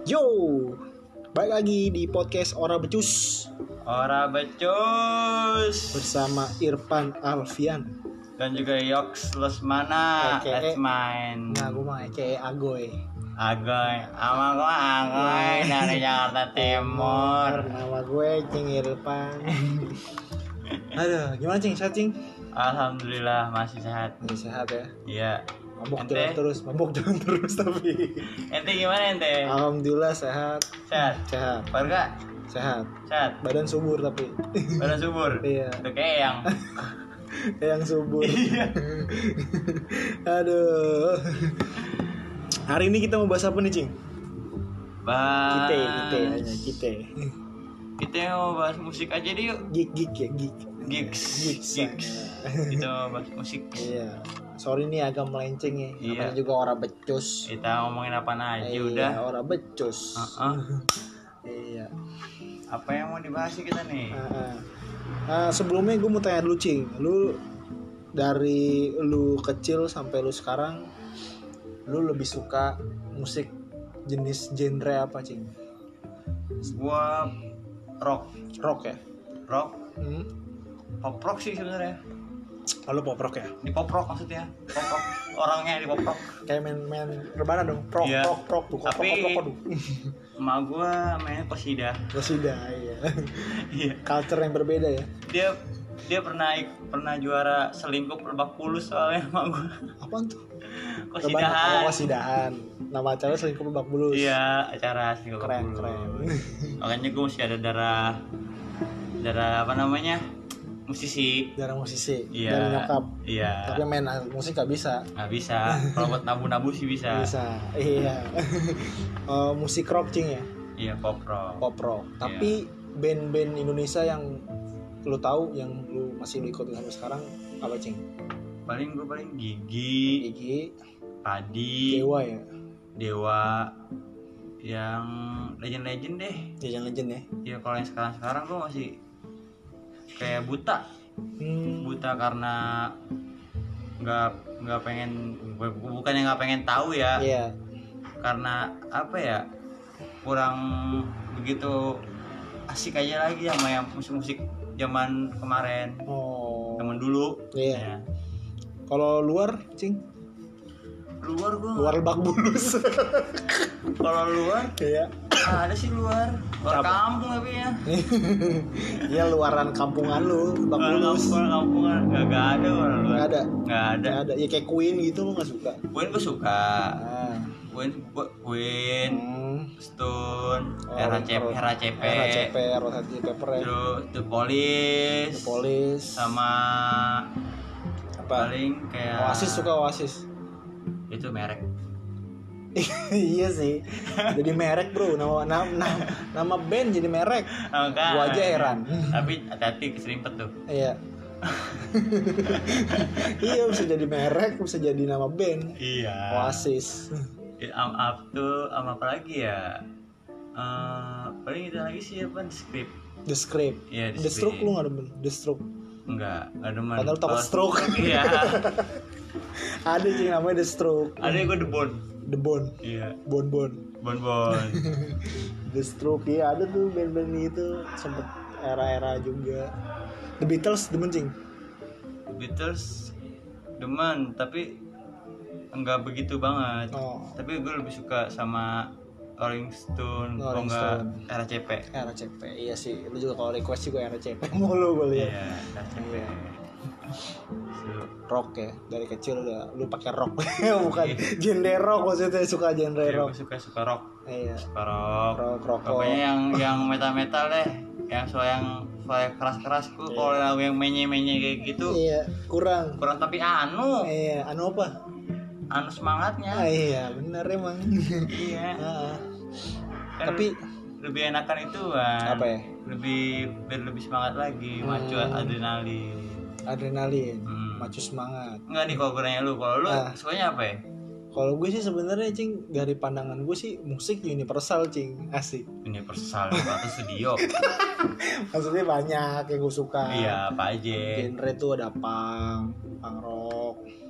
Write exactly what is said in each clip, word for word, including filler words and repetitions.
Yo, balik lagi di podcast Ora Becus Ora Becus bersama Irfan Alfian dan juga Yoks Lesmana. Aka Let's main. Nah, gue mah Aka Agoy. Agoy, ama gua Agoy dari Jakarta Timur. Nama gue Cing Irfan. Aduh, gimana Cing? Sehat Cing? Alhamdulillah masih sehat. Masih sehat ya? Iya. Mabuk Ente? jalan terus, mabuk jalan terus tapi. Ente gimana ente? Alhamdulillah sehat. Sehat. Sehat. Warga Sehat. sehat. Badan subur tapi. Badan subur. Iya. Itu kayak yang Yang subur. Iya. Aduh. Hari ini kita mau bahas apa nih, Cing? bahas. Kita, kita hanya kita. Kita mau bahas musik aja deh yuk. Geek, geek ya, geek. Gigs. Gigs. Gigs. Kita mau bahas musik. Iya. Sorry nih agak melenceng ya. Iya. Namanya juga orang becus. Kita ngomongin apa aja Iya, udah. orang becus. Uh-uh. Iya. Apa yang mau dibahas sih kita nih? Uh, uh, sebelumnya gue mau tanya dulu, Cing. Lu dari lu kecil sampai lu sekarang, lu lebih suka musik jenis genre apa, Cing? Gua rock, Rock ya? rock, Hmm? pop rock sih sebenarnya. Oh, lu pop rock ya? Di pop rock maksudnya, pop rock. Orangnya di pop rock. Kayak main-main rebana dong. Rock, Iya. rock, rock tuh. Kok, Tapi- kok, kok, kok, Emak gua mainnya Kosida. sudah, iya. Iya. Culture yang berbeda ya. Dia dia pernah ik- pernah juara selingkup Lebak Bulus soalnya emak gua. Apaan tuh? Kosidahan. Oh, Kosidahan. Nama acara selingkuh Lebak Bulus. Iya, acara selingkup Keren, Lebak keren. Bulus. Makanya gua masih ada darah darah apa namanya? Musisi. Darah musisi. Iya. Darah nyokap. Iya. Tapi main musik gak bisa. Nggak bisa. Kalau buat nabu-nabu sih bisa. Bisa. Iya. Eh, musik rock, Cing ya. Iya, pop rock. Pop rock. Tapi band-band Indonesia yang lu tahu, yang lu masih lu ikutin sampai sekarang apa, Cing? Paling gue paling Gigi, Gigi, Padi, Dewa ya. Dewa, yang legend-legend deh. Legend-legend ya. Ya kalau yang sekarang-sekarang gue masih kayak buta, Hmm. buta karena nggak nggak pengen, bukannya nggak pengen tahu ya, Iya. karena apa ya, kurang begitu asik aja lagi sama yang musik-musik zaman kemarin, Oh. zaman dulu. Iya. Ya. Kalau luar, Cing? Luar gue, Luar Lebak Bulus. kalau luar Iya. ada sih luar, luar Apa? kampung tapi ya. Iya, luaran kampungan lu, Lebak Luar Bulus. kampung, luar kampungan nggak nggak ada orang luar. Nggak ada. Nggak ada. Nggak ada. Ya kayak Queen gitu lu nggak suka? Queen gue suka. Ah. Queen, Queen, Hmm. Stone, Oh, R H C P, Ro- R H C P, R H C P, R H C P, Pepper, terus The Police, The Police, sama apa? paling kayak Oasis, suka Oasis. itu merek. Iya sih. Jadi merek, Bro. Nama nama nama, nama band jadi merek. Oh, kan. Gua aja heran. Tapi hati-hati keserimpet tuh. Iya. Iya, bisa jadi merek, bisa jadi nama band. Iya. Oasis. Am up tuh sama apa lagi ya? Eh, paling itu lagi sih apa? The Script. The Script. Iya, The The Stroke Script. lu nggak demen? The Stroke. Enggak, enggak demen. Padahal takut Kalau- stroke. Iya. Ada sih namanya The Stroke. Ada gue The Bone. The Bone. Iya. Bon Bon. Bon Bon. The Stroke, iya ada tuh band-band itu sempet era-era juga. The Beatles demen, Cing. Beatles demen, tapi enggak begitu banget. Oh, Tapi gue lebih suka sama Rolling Stone, kalau Rolling enggak Stone. R H C P. R H C P. Iya sih, lu juga kalau request juga R H C P mulu gue lihat. Iya, R H C P. Iya. So, Rock ya, dari kecil udah lu pakai rock. Bukan genre rock, maksudnya suka genre iya, rock. gue suka suka rock, Iya. suka rock. Rock, rock, Pokoknya yang yang metal metal deh, yang soal yang soal keras keras. Gue kalau lagu yang menye menye kayak gitu Iya, kurang. kurang, tapi anu, Iya, anu apa? anu semangatnya. Ah, iya, bener emang. Iya. Ah, Kan tapi lebih enakan itu kan. apa ya? Lebih biar lebih semangat lagi, macu Hmm. adrenalin. Adrenalin, Hmm. macu semangat. Enggak nih kalau gue nanya lu, kalau lu Ah. sukanya apa ya? Kalau gue sih sebenarnya, Cing, dari pandangan gue sih musik universal, Cing. Asik. Universal atau studio? Maksudnya banyak yang gue suka. Iya, apa aja? Genre tuh ada punk, punk rock,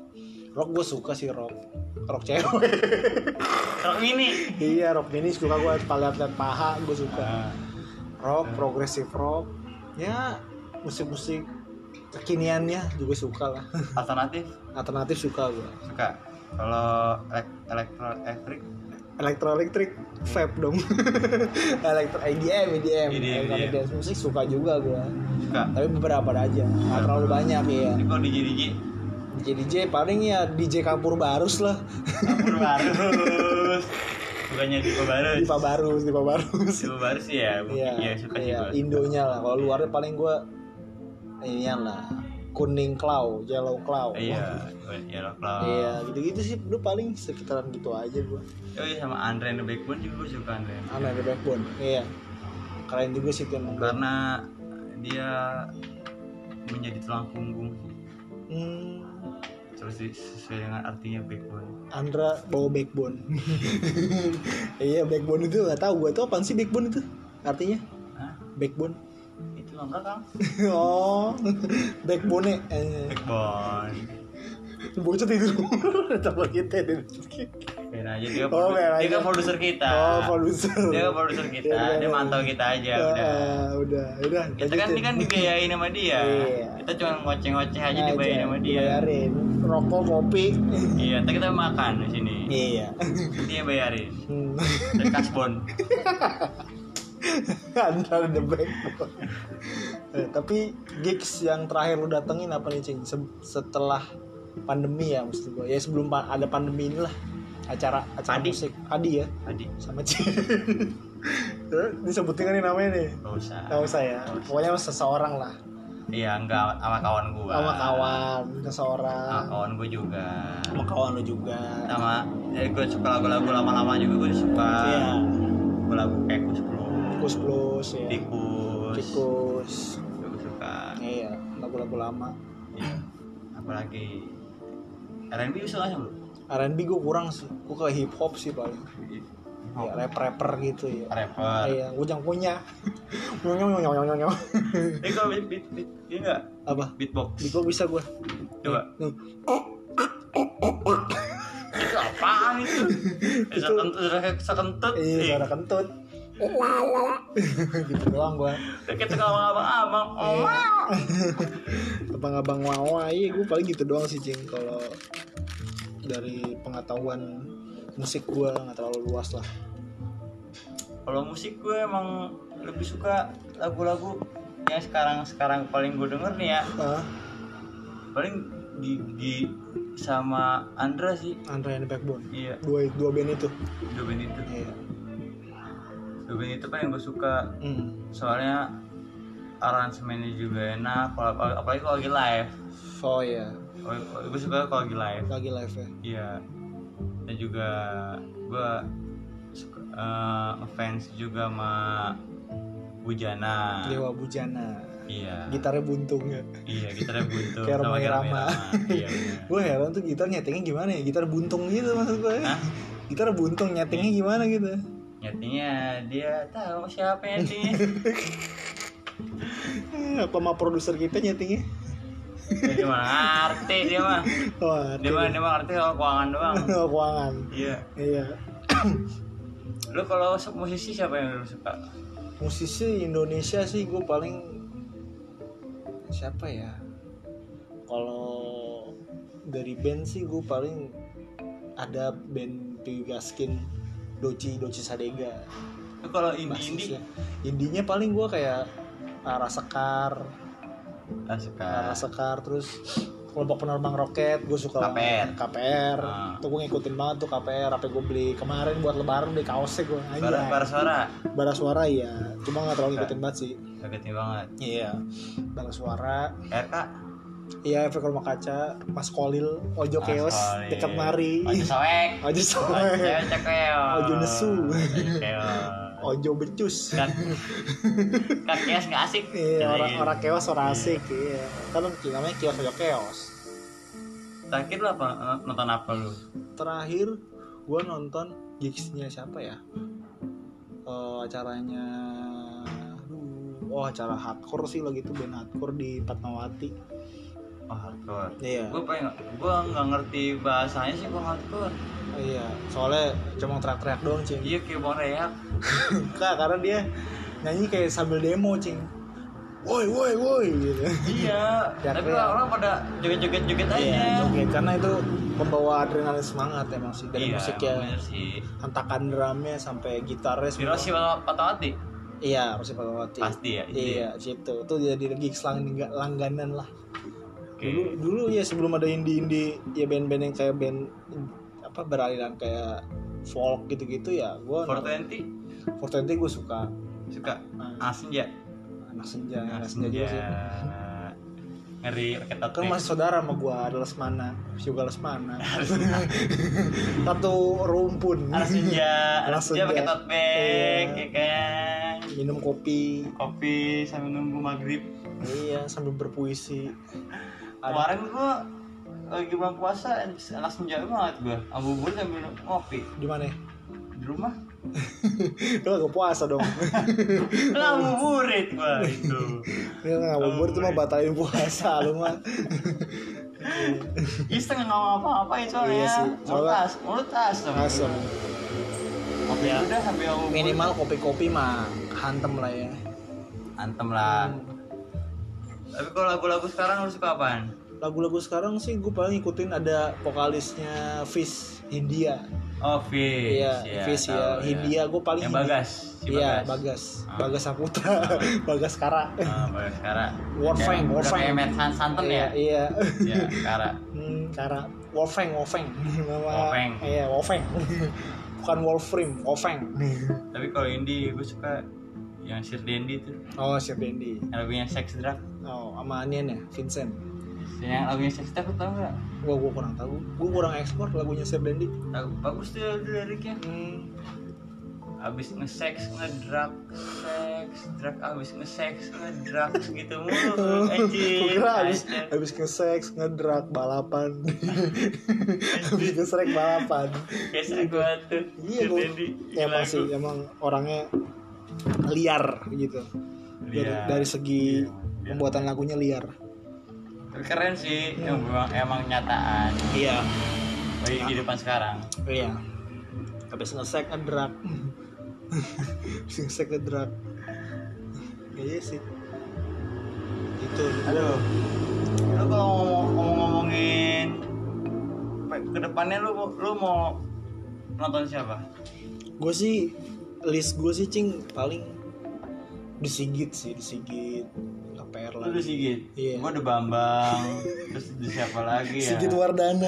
Rock gue suka sih rock. Rock cewek. Rock mini. Iya rock mini suka gue. Lihat-lihat paha gue suka. Ah, Rock, progressive rock. Ya musik-musik kekiniannya juga suka lah. alternatif Alternatif suka gue. suka. Kalau elek- elektro elektrik Elektro elektrik vape dong. Elektro E D M, E D M, E D M, elektronik E D M. dance musik suka juga gue. suka. Tapi beberapa aja, nggak terlalu banyak ya. Tapi kalau D J D J D J D J paling ya D J Kapur Barus lah. Kapur Barus. Bukannya Dipa Barus. Dipa Barus, Dipa Barus. Dipa Barus sih ya. Iya, Iya suka iya, juga. Indonya lah. Kalau luarnya paling gue inian lah. Kuning Claw, Yellow Claw. Iya, Yellow Claw. Iya, gitu-gitu sih. Lu paling sekitaran gitu aja gue. Oh iya, sama Andre and the Backbone juga gue suka Andre. Aneh The Backbone. Iya. Keren juga sih tuh. Karena dia menjadi tulang punggung. Hmm, Terus di- sesuai dengan artinya backbone. Andra bawa backbone. Iya, backbone itu nggak tahu gue tuh apaan sih backbone itu? Artinya? Hah? Backbone. Itu loh Kang. Oh, backbone. Eh, Backbone. bocah tidur. Coba kita tidur. Biar aja dia, Oh, produ- biar dia aja. kan produser kita. Oh, produser. Dia kan produser kita. Ya, Dia udah. mantau kita aja Ah, udah. ah, udah, udah. Kita kan ini kan dibiayain sama dia. Iya. Kita cuma ngoceh-ngoceh aja dibayarin sama dia. Dibayarin. Rokok, kopi. Iya, ntar kita makan di sini. Iya. Dia bayarin. Hmm. Dan kasbon. Antara the backbone. Eh, tapi gigs yang terakhir lu datengin apa nih Cing? Se- setelah pandemi ya maksud gue. Ya sebelum pa- ada pandemi inilah acara acara Adi. musik. Adi ya Tadi sama Cing. Eh, disebutin kan nih namanya nih. nggak usah. Gak usah ya. Pokoknya seseorang lah. Iya, enggak sama kawan gua. Sama kawan, Sama seseorang. kawan gua juga. Sama kawan lu juga. Sama ya gua suka lagu-lagu lama-lama juga gua suka. Iya. Lagu kayak Kus Plus, Kus Plus ya. Tikus. Tikus. Gua suka. Iya, lagu-lagu lama. Iya. Apalagi R and B suka nggak lu? R and B gue kurang sih. Gue ke hip hop sih paling. Ya rap-rapper gitu ya. Rapper. Iya, gue jangan punya. Nyong nyong nyong nyong nyong nyong. Eh kalau beat beat beat ini enggak? Apa? Beatbox. Di gue bisa gue. Coba. Nih. Itu apaan itu? Itu- Sekentut, sekentut. Iya, Ih, suara kentut. Gitu doang gue. Kita kalau abang-abang. Oh, Iya. Abang-abang wawa, iya gue paling gitu doang sih Cing. Kalau dari pengetahuan musik gue nggak terlalu luas lah. kalau musik gue emang lebih suka lagu-lagu yang sekarang sekarang paling gue denger nih ya. Ah, Paling di, di sama Andra sih. Andra and the Backbone. Iya, Dua dua band itu. dua band itu. Iya. Dua band itu paling gue suka. Hmm. Soalnya aransemennya juga enak. Apalagi, apalagi kalau lagi live. Oh iya, Gue suka kalau lagi live. lagi live ya. Iya. Dan juga gue suka eh, ngefans juga sama Bujana. Dewa Bujana. Iya. Gitarnya buntung ya. Iya, gitarnya buntung. Kayak sama Roma Roma Irama. Iya, bener. Gue heran tuh gitar nyetingnya gimana ya? Gitar buntung gitu maksud gue. Hah? Gitar buntung nyetingnya gimana gitu? Nyetingnya dia tahu siapa yang nyetingnya. Eh, Apa sama produser kita nyetingnya? Dia mah ngerti dia mah. Wah, Dia mah dia mah ngerti kalau keuangan doang. keuangan. Iya. Iya. Lu kalau musisi siapa yang lu suka? Musisi Indonesia sih gue paling siapa ya? Kalau dari band sih gue paling ada band Piwi Gaskin, Doci, Doci Sadega. Lu kalau indie-indie Basisnya. Indinya paling gue kayak Rara Sekar, ah, suka. Rara Sekar, terus kelompok penerbang roket gue suka K P R. K P R. Ah. Tuh gue ngikutin banget tuh K P R. Apa gue beli kemarin buat lebaran beli kaosnya gue Bara, aja. bara suara. Bara Suara ya, cuma nggak terlalu ngikutin banget sih. Kagetin banget. Iya, Bara Suara. R K. Iya, efek rumah kaca, Mas Kolil, Ojo Mas Keos, Kolil. dekat mari. Ojo soek. Ojo Ojo soek, cekeo. Ojo nesu. Keos. Ojo becus. Kan kan keos nggak asik. Iya, Gitu. orang orang keos orang asik. Iya, kan namanya kios Ojo Keos. Terakhir lu apa nonton apa lu? Terakhir, gue nonton gigsnya siapa ya? Eh, acaranya, aduh, oh acara hardcore sih lagi tuh band hardcore di Fatmawati. Oh, hardcore. Iya. Gue pengen, gue nggak ngerti bahasanya sih gue hardcore. Iya, soalnya cuma teriak-teriak doang, Cing. Iya kayak mau reak. Enggak, karena dia nyanyi kayak sambil demo, Cing. Woi, woi, woi gitu. Iya. Ya, Tapi kayak- orang pada joget-joget-joget aja. Iya, joget karena itu membawa adrenalin semangat emang sih dari Iya, musik emang ya. bener sih. Hentakan drumnya sampai gitarnya semua. Hiroshi Patawati. Iya, Rossi Patawati. Pasti ya, itu Iya, situ. Itu jadi gigs lang- langganan lah. Oke. Dulu dulu ya sebelum ada indie-indie ya band-band yang kayak band apa beraliran kayak folk gitu-gitu ya gua four twenty four twenty gue suka. suka. Nah, Anak senja. anak senja, anak Anak senja juga sih. Ngeri pakai tato. Kan masih saudara sama gua, ada Lesmana, juga Lesmana. Satu rumpun. Anak senja, anak Anak senja senja. pakai tote bag, Iya. ya kan. Minum kopi, Kopi sambil nunggu maghrib. iya sambil berpuisi. Kemarin gua lagi bulan puasa, anak senja banget gua. Abubur sambil ngopi Di mana? di rumah. Lu gak puasa dong. Lah ngabuburit gua itu. Dia ngabubur itu mah batalin puasa lu mah. Iseng nggak ngapa-ngapain soalnya. Iya sih, Mulut soalnya- tas, mulut tas. Asem. Kopi Ya. udah sambil ngabubur. Minimal kopi-kopi mah hantem lah ya. Antem lah. Tapi kalau lagu-lagu sekarang lu suka apaan? Lagu-lagu sekarang sih gue paling ngikutin ada vokalisnya Fish Hindia. Oh, Fish. Iya, Fish ya. Hindia gue paling Yang Hindi- Bagas. Si Iya, Bagas. Bagas. Ah. Bagas Saputra. Bagas Kara. Ah, Bagas Kara. Wolfgang, Udah Wolfgang. kayak Matt San- Santen Iya, ya? iya. Iya, Kara. Hmm, Kara. Wolfgang, Wolfgang. Nama Wolfgang. Iya, Wolfgang. Bukan Wolfram, Wolfgang. Tapi kalau indie gue suka yang Sir Dendi tuh. Oh, Sir Dendi. Yang lagunya Sex Drug. Oh, sama Anian ya, Vincent. Yang lagunya Sex Drug lu tau gak? Gua gua kurang tahu. Gua kurang ekspor lagunya Sir Dendi. Tahu bagus tuh liriknya. Hmm. Abis nge-sex, nge-drug, sex, drug, abis nge-sex, nge-drug gitu mulu anjing. Gua kira abis, Aja. abis nge-sex, ngedrak, balapan. Abis nge-sex, balapan. Kayak seru banget tuh. Iya, Sir gua, Dendi, ya lagu. masih emang orangnya liar gitu. Dari, Liar. dari segi Iya. pembuatan lagunya liar. Tapi keren sih, emang, emang nyataan Iya. bagi kehidupan sekarang. Iya. Habis nge-sex, ngedrak. Habis nge-sex, ngedrak. Iya sih. Itu. Aduh, lu kalau ngomong ngomongin kedepannya lu lu mau nonton siapa? Gue sih list gue sih cing paling disigit sih disigit K P R Lu lagi. udah Sigit, Iya. gua udah Bambang, terus ada siapa lagi ya? Sigit Wardana.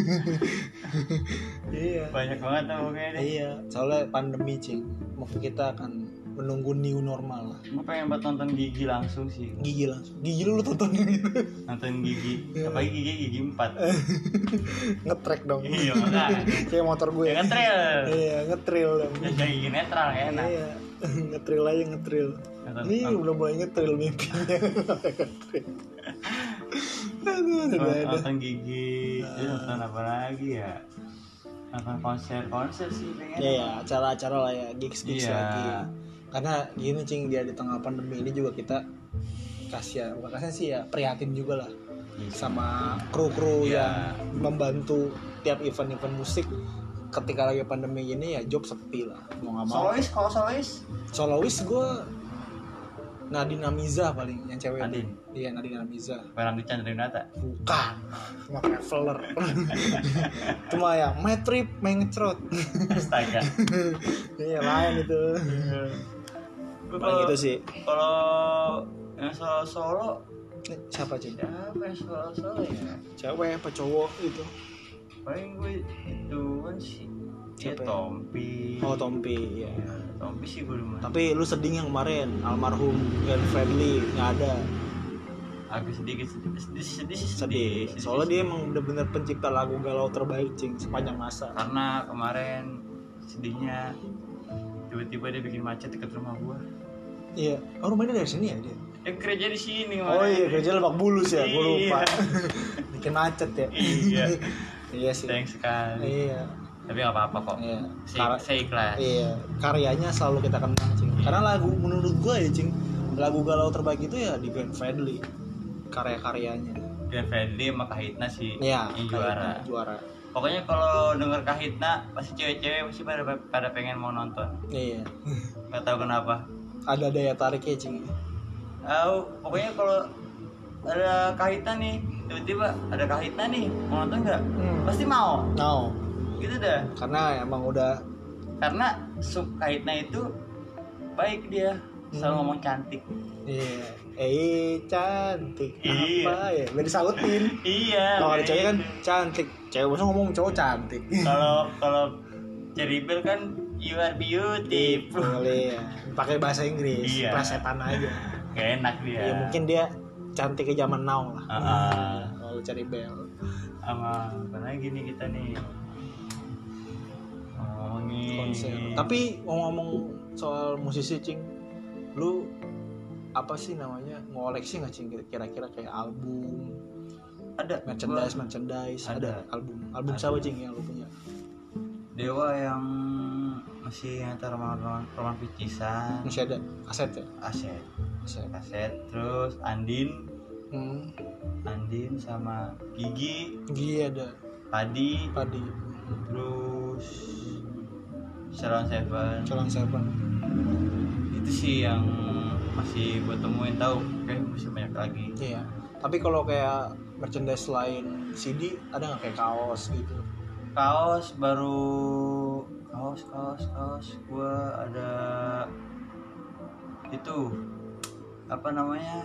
Iya. Banyak banget tuh pokoknya deh. Iya. Soalnya pandemi cing, mungkin kita akan menunggu new normal lah. Gua pengen buat nonton Gigi langsung sih, Gigi langsung. Gigi lu tontonin gitu. nonton Gigi, Iya. apalagi Gigi Gigi empat. Ngetrek dong. Iya makanya. Kayak motor gue. Ya kan trail, Iya, ngetril dong. ya kayak Gigi netral ya enak. Iya. Ngetril aja ngetril. Nonton, Ini nonton, udah mulai ngetril mimpinya. Ngetril. Aduh, udah ada. nonton Gigi, terus nonton apa lagi ya? Nonton konser-konser sih pengen. Ya ya, acara-acara lah ya, gigs-gigs Iya. lagi. Karena gini cing, dia di tengah pandemi ini juga kita kasihan, bukan kasihan sih ya, prihatin juga lah Iya. sama kru-kru Iya. yang membantu tiap event-event musik. Ketika lagi pandemi ini ya job sepi lah, mau nggak mau. Solois, kalau solois Solois gue Nadine Amiza paling yang cewek. Nadine? Iya, Nadine Amiza. Barang di Chandra Nata. Bukan, cuma traveler. Cuma ya, my trip, my ngecrot. Astaga. Iya, lain itu. Gua Paling kalau gitu sih. kalau yang solo solo Eh, Siapa cing? siapa yang solo solo ya? Cewek apa cowok gitu? Paling gue ituan sih. Ya Siapa ya? Tompi. Oh, Tompi, ya. Tompi sih gue demen. Tapi lu sedih yang kemarin, almarhum Glenn Fredly nggak ada. Agak sedikit sedih sedih sedih sih Sedih. Soalnya dia emang bener-bener pencipta lagu galau terbaik cing sepanjang masa. karena kemarin sedihnya tiba-tiba dia bikin macet dekat rumah gua. Iya. Oh, rumahnya dari sini ya dia? Dia kerja di sini Oh kemarin. iya, kerja Lebak Bulus ya, gue lupa. Iya. Bikin macet ya. Iya. Iya sih. Sayang sekali. Iya. Tapi nggak apa-apa kok. Iya. Saya, Kar- saya ikhlas. iya. Karyanya selalu kita kenang, cing. Karena lagu menurut gue ya, cing, lagu galau terbaik itu ya di Glenn Fredly. Karya-karyanya. Glenn Fredly sama Kahitna sih Iya, yang Kahitna juara. juara. Pokoknya kalau denger Kahitna pasti cewek-cewek pasti pada pada pengen mau nonton. Iya. Gak tahu kenapa. Ada daya tariknya cing. Tahu, pokoknya kalau ada Kahitna nih, tiba-tiba ada Kahitna nih, mau nonton nggak? Hmm. Pasti mau. No. Gitu dah. Karena emang udah. Karena sub Kahitna itu baik dia, selalu Hmm. ngomong cantik. Iya. Eh cantik Iya. apa ya? Biar disautin. Iya. Kalau ada kayak cewek kan gitu. cantik. Cewek biasa ngomong cowok cantik. Kalau kalau Ceribel kan you are beautiful. Boleh ya. Pakai bahasa Inggris. Iya. Plesetan aja. Gak enak dia. Ya mungkin dia cantik ke zaman now lah. Uh-uh. Kalau cari bel. Sama apa lagi nih kita nih ngomongin Konser. Tapi ngomong-ngomong soal musisi cing, lu apa sih namanya ngoleksi nggak cing kira-kira kayak album, ada merchandise, gua- merchandise, ada, Ada. album, album Ada. siapa cing yang lu punya? Dewa yang masih antara roman roman picisan, Masih ada kaset ya? aset Kaset. kaset terus Andin Hmm. Andin sama Gigi Gigi ada, Padi Padi, terus Salon Seven. Colang Seven. Itu sih yang masih gue temuin, tahu kayak masih banyak lagi. Iya. Tapi kalau kayak merchandise lain C D ada nggak kayak kaos gitu? Kaos baru kaos kaos kaos gue ada itu apa namanya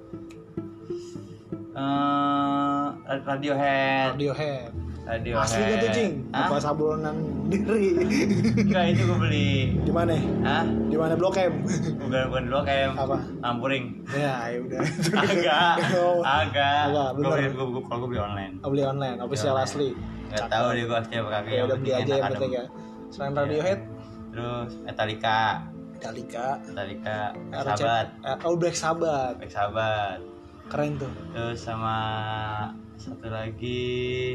Eh, Radiohead Radiohead. Radiohead Asli gak tuh cing? Hah? Apa sablonan diri? Enggak, itu gue beli. Di mana? Hah? Di mana Blok M? Bukan bukan dulu kayak Apa? Ampuring. Ya, ya udah. Agak, Oh, agak. Agak, Gue bener. beli, gue gue kalau gue beli online. oh, beli online, official Online. asli. Gak tahu deh gue asli apa kagak. Ya udah beli penting aja enak, yang penting adem. ya. Selain Iya. Radiohead, Terus Metallica, Metallica, Metallica, Black R C- Sabbath, eh, oh Black Sabbath, Black Sabbath. keren tuh. Terus sama satu lagi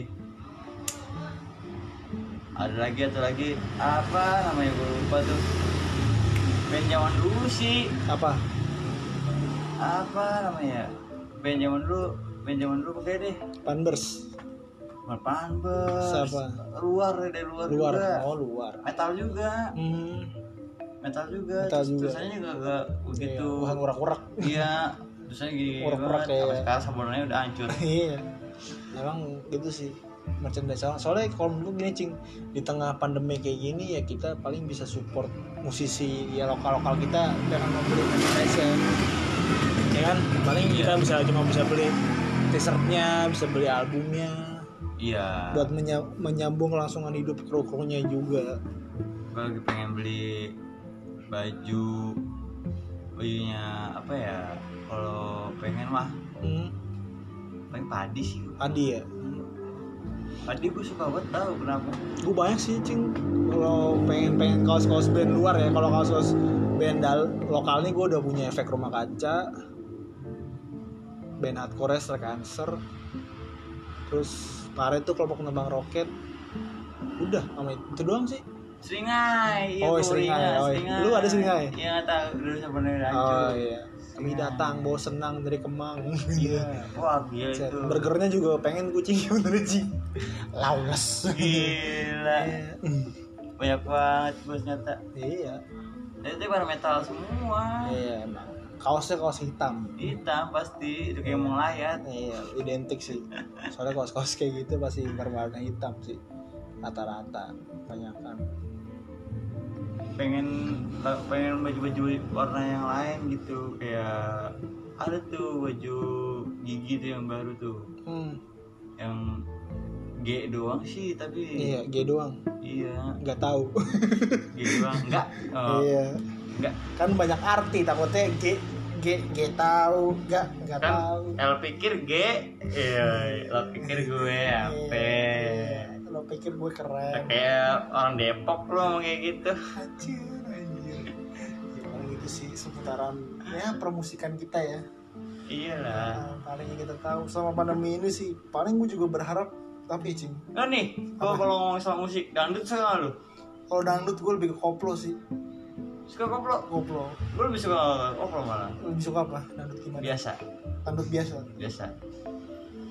ada lagi atau lagi apa namanya gue lupa tuh. Band zaman dulu sih Apa? apa namanya band zaman dulu band zaman dulu pakai deh Panbers, Panbers Siapa? luar dari luar, luar, juga oh luar. metal juga Hmm, metal juga Metal Terus juga. tulisannya juga gak begitu iya, bukan urak-urak. iya tulisannya gini Urak-urak banget kayak- sampai sekarang sablonannya udah hancur. Iya, emang gitu sih merchandise. So- Soalnya kalau menurut gue gini cing, di tengah pandemi kayak gini ya kita paling bisa support musisi ya lokal-lokal kita dengan membeli merchandise ya, ya kan. Paling Iya. kita bisa cuma bisa beli t-shirtnya, bisa beli albumnya, Iya buat menya- menyambung kelangsungan hidup kru-krunya juga. gue lagi pengen beli baju bajunya apa ya kalau pengen mah Hmm, paling Padi sih. Adi ya. Padi gue suka banget, tahu kenapa. Gue banyak sih cing kalau pengen pengen kaos-kaos band luar ya. Kalau kaos-kaos band dal lokal nih gue udah punya Efek Rumah Kaca, band hardcore Star Cancer, terus kemarin tuh kelompok Nembang Roket. Udah sama itu doang sih. Seringai, iya Oh, gua Seringai, ingat, oh, iya. Lu ada Seringai? Iya nggak tahu, dulu sebenarnya udah hancur. Oh iya. Kami datang bawa senang dari Kemang. Iya. Wah gila Set. itu. Burgernya juga pengen kucing bener Ci. Laules. Gila. Iya. Banyak banget bos nyata. Iya. Itu pada metal semua. Iya emang. Kaosnya kaos hitam. Hitam pasti, itu kayak mau layat. Iya, identik sih. Soalnya kaos-kaos kayak gitu pasti berwarna hitam sih. Rata-rata kebanyakan. Pengen pengen baju-baju warna yang lain gitu, kayak ada tuh baju Gigi tuh yang baru tuh, Hmm. yang G doang sih tapi Iya, G doang. iya Nggak tahu. G doang enggak oh, Iya. enggak Kan banyak arti takutnya G G G tahu, nggak nggak kan tahu. L pikir G iya lo pikir gue apa Iya. Lo pikir gue keren. kayak orang Depok lo ngomong kayak gitu. Anjir, anjir. Ya, paling itu sih seputaran ya permusikan kita ya. Iyalah. Nah, paling yang kita tahu selama pandemi ini sih paling gue juga berharap tapi cing. Nah nih kalau Apa? kalau ngomong soal musik dangdut suka nggak lu? Kalau dangdut gue lebih ke koplo sih. Suka koplo? Koplo. Lu lebih suka koplo malah? Lebih suka apa? Dangdut gimana? Biasa Dangdut biasa. biasa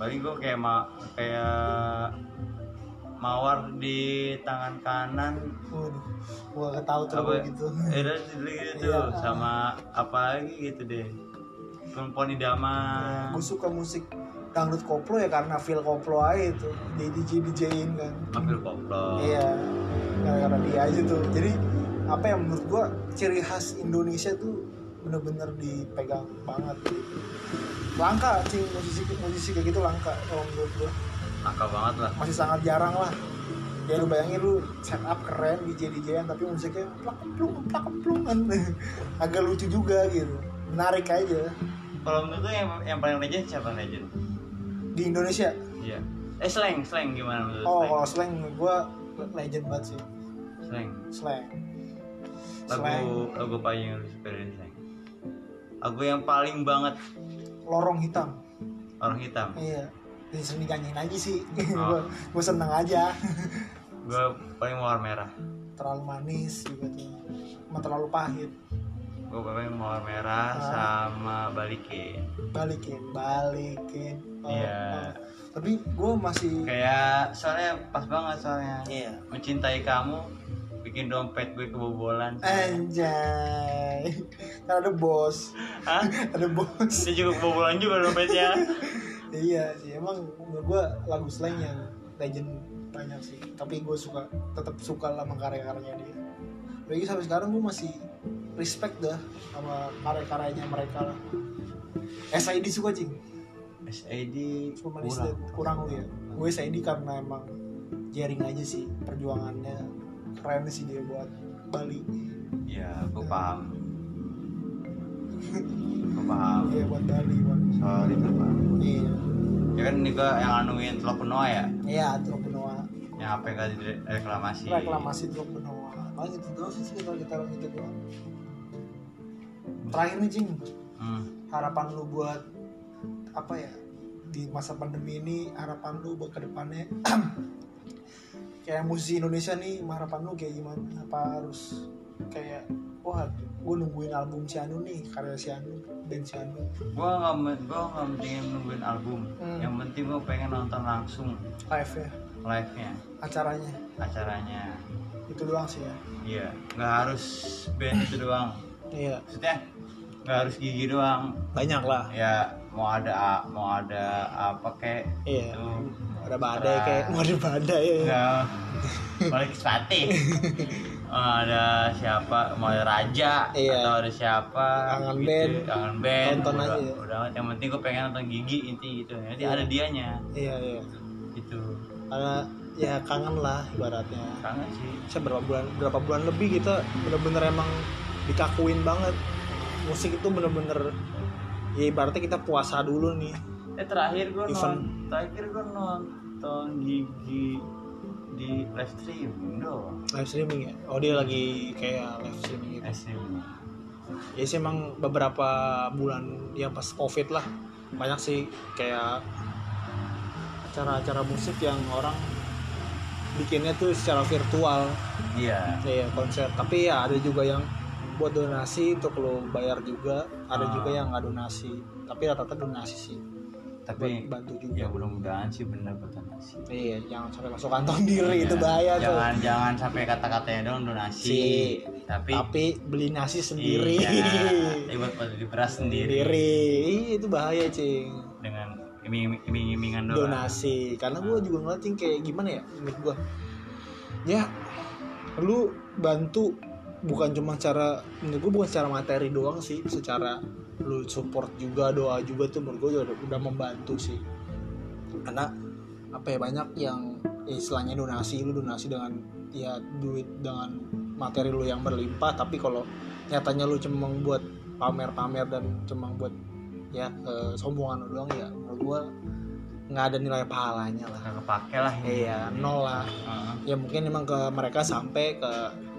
paling gue kayak ma kayak mawar di tangan kanan. Waduh, gua gak tahu tuh Apa gitu. ada gitu Iya. sama apa lagi gitu deh, perempuan idaman. Gue suka musik dangdut koplo ya karena feel koplo aja itu di D J D J-in kan. Ambil koplo. Iya, gara-gara dia aja tuh. Jadi apa yang menurut gua ciri khas Indonesia tuh bener-bener dipegang banget gitu. Langka sih musisi musisi kayak gitu, langka kalau menurut gua. Angka banget lah. Masih sangat jarang lah. Ya lu bayangin lu setup keren D J D J-an tapi musiknya plak-plung plak-plungan. Agak lucu juga gitu. Menarik aja. Kalau menurut lu yang yang paling legend siapa legend Di Indonesia. iya eh slang slang gimana menurut Oh, slang kalau slang gua legend banget sih. slang Slang. lagu Slang. lagu apa yang lu suka dari slang? Lagu yang paling banget Lorong hitam. orang hitam. Iya. Jadi sering dinyanyiin aja sih. Oh. Gue seneng aja. Gue paling mawar merah. Terlalu manis juga tuh. Sama terlalu pahit. Gue paling mawar merah Ah. sama balikin. Balikin, balikin. Oh, Iya. oh. Tapi gue masih Kayak soalnya pas banget soalnya. Iya. Mencintai kamu bikin dompet gue kebobolan. Anjay. Kan ada bos. Hah? Ada bos. Dia juga kebobolan juga dompetnya. Iya sih, emang menurut gue lagu slang yang legend banyak sih. Tapi gue suka, tetap suka lah sama karya-karyanya dia. Lagi sampai sekarang gue masih respect dah sama karya-karyanya mereka lah. S I D suka cing. S A D Cuma kurang. kurang lu ya. Gue S I D karena emang jaring aja sih perjuangannya, keren sih dia buat Bali. Iya, gue paham. Gue paham. Iya buat Bali, buat. Soal itu paham. Iya. Ya kan juga yang anuin Teluk Benoa ya, Iya, Teluk Benoa. yang apa yang gak reklamasi. Reklamasi Teluk Benoa. Paling itu doang sih kita kita gitu doang. Terakhir nih cing, Hmm. harapan lu buat apa ya di masa pandemi ini, harapan lu buat kedepannya kayak musisi Indonesia nih, harapan lu kayak gimana? Apa harus kayak wah gue nungguin album si Anu nih, karya si Anu, band si Anu, Gue nggak gue nggak pentingin nungguin album. Hmm. Yang penting gue pengen nonton langsung live ya, live-nya, acaranya acaranya. itu doang sih ya. Iya, nggak harus band itu doang. Iya, Maksudnya nggak harus Gigi doang. banyak lah. Ya mau ada mau ada apa kayak Iya, itu. ada badai Terus- kayak mau ada badai ya. Nggak balik Spati. Oh, ada siapa, mau ada Raja Iya. atau ada siapa Kangen gitu. band. Kangen band Tonton udah, aja. udah yang penting gue pengen nonton Gigi inti gitu, nanti Iya. ada dianya Iya iya, gitu. karena ya kangen lah ibaratnya. Kangen sih. Saya berapa bulan berapa bulan lebih kita bener-bener emang dikakuin banget, musik itu bener-bener ya ibaratnya kita puasa dulu nih. Eh terakhir gue Event. nonton terakhir gue nonton Gigi di live stream doang. Live streaming ya, oh dia lagi kayak live streaming gitu. Live streaming. Ya sih emang beberapa bulan yang pas covid lah banyak sih kayak acara-acara musik yang orang bikinnya tuh secara virtual. Iya. Iya konser, tapi ya ada juga yang buat donasi untuk lo bayar juga, ada Ah. juga yang nggak donasi, tapi rata-rata donasi sih, Tapi buat bantu juga. ya mudah-mudahan sih bener buat donasi. Iya, jangan sampai masuk kantong diri, Iya. itu bahaya tuh. Jangan jangan sampai kata-katanya dong donasi. Si, tapi tapi beli nasi sendiri. Iya, buat beli beras sendiri. Sendiri. Iya, itu bahaya cing. Dengan iming- iming-imingan doang. Donasi, karena gue juga ngeliatin kayak gimana ya menurut gue. Ya, lu bantu bukan cuma cara, menurut gue bukan secara materi doang sih, secara lu support juga, doa juga tuh menurut gue udah, udah membantu sih. Karena apa ya, banyak yang ya, istilahnya donasi, lu donasi dengan ya duit, dengan materi lu yang berlimpah, tapi kalau nyatanya lu cuma buat pamer-pamer dan cuma buat ya kesombongan lu doang, ya menurut gue nggak ada nilai pahalanya lah. Nggak kepake lah ini. Iya, nol lah. Heeh. Ya mungkin emang ke mereka sampai ke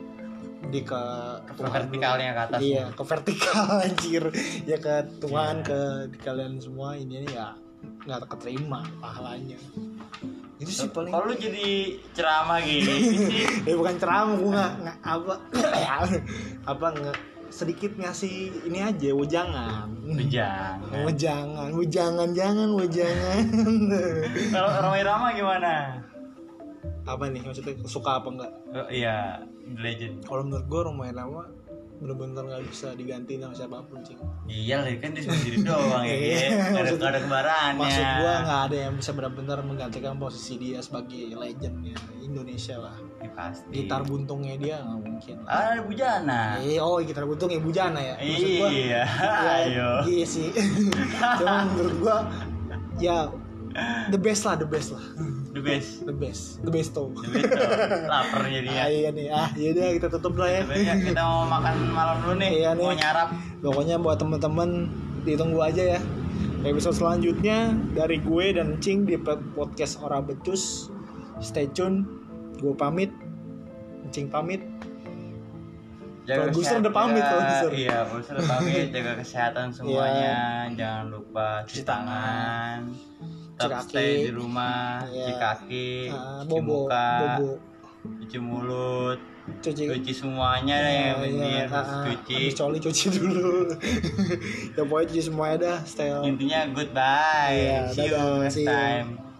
di ke Ke Tuhan vertikalnya ke atas. Iya, ke vertikal anjir. Ya ke Tuhan, Iya. ke di kalian semua ini ya nggak keterima pahalanya. Itu sih paling. Kalau lu jadi ceramah gini sih. Ya bukan ceramah, gue nggak nggak apa apa nggak sedikit ngasih ini aja wejangan. Wejangan. Wejangan, wejangan, jangan wejangan. Kalau Rhoma Irama gimana? Apa nih maksudnya suka apa enggak? Oh, iya, Legend. Kalau menurut gue Rhoma Irama bener-bener nggak bisa diganti sama siapapun cing. Iya lah kan dia sendiri doang ya. Gak ada, gak ada kembarannya. Maksud gue nggak ada yang bisa benar-benar menggantikan posisi dia sebagai legendnya Indonesia lah. Ya, pasti. Gitar buntungnya dia nggak mungkin. Ah, Bujana. Eh, oh gitar buntung Ibu Jana ya. Maksud gua, Iya. ya, Ayo. iya sih. Cuma menurut gua ya the best lah, the best lah. The best. The best, the best tuh. The best tuh. Lapar jadinya. Ah, iya nih, ah yaudah kita tutup lah ya. Sebenarnya kita mau makan malam dulu nih. Iya nih. Mau nyarap. Pokoknya buat teman-teman ditunggu aja ya. Episode selanjutnya dari gue dan Cing di podcast Ora Becus. Stay tune. Gue pamit. Cing pamit. Produser udah pamit produser. Iya, produser udah pamit. Jaga kesehatan semuanya. Jangan lupa cuci tangan. Tetap stay di rumah, yeah. cuci kaki, uh, cuci bobo, muka, bobo. cuci mulut, cuci, cuci semuanya yeah, yang penting yeah, harus uh, cuci. Habis coli cuci dulu. Ya pokoknya cuci semuanya dah. Stay. Intinya goodbye. Yeah, See dadah, you next see you. time.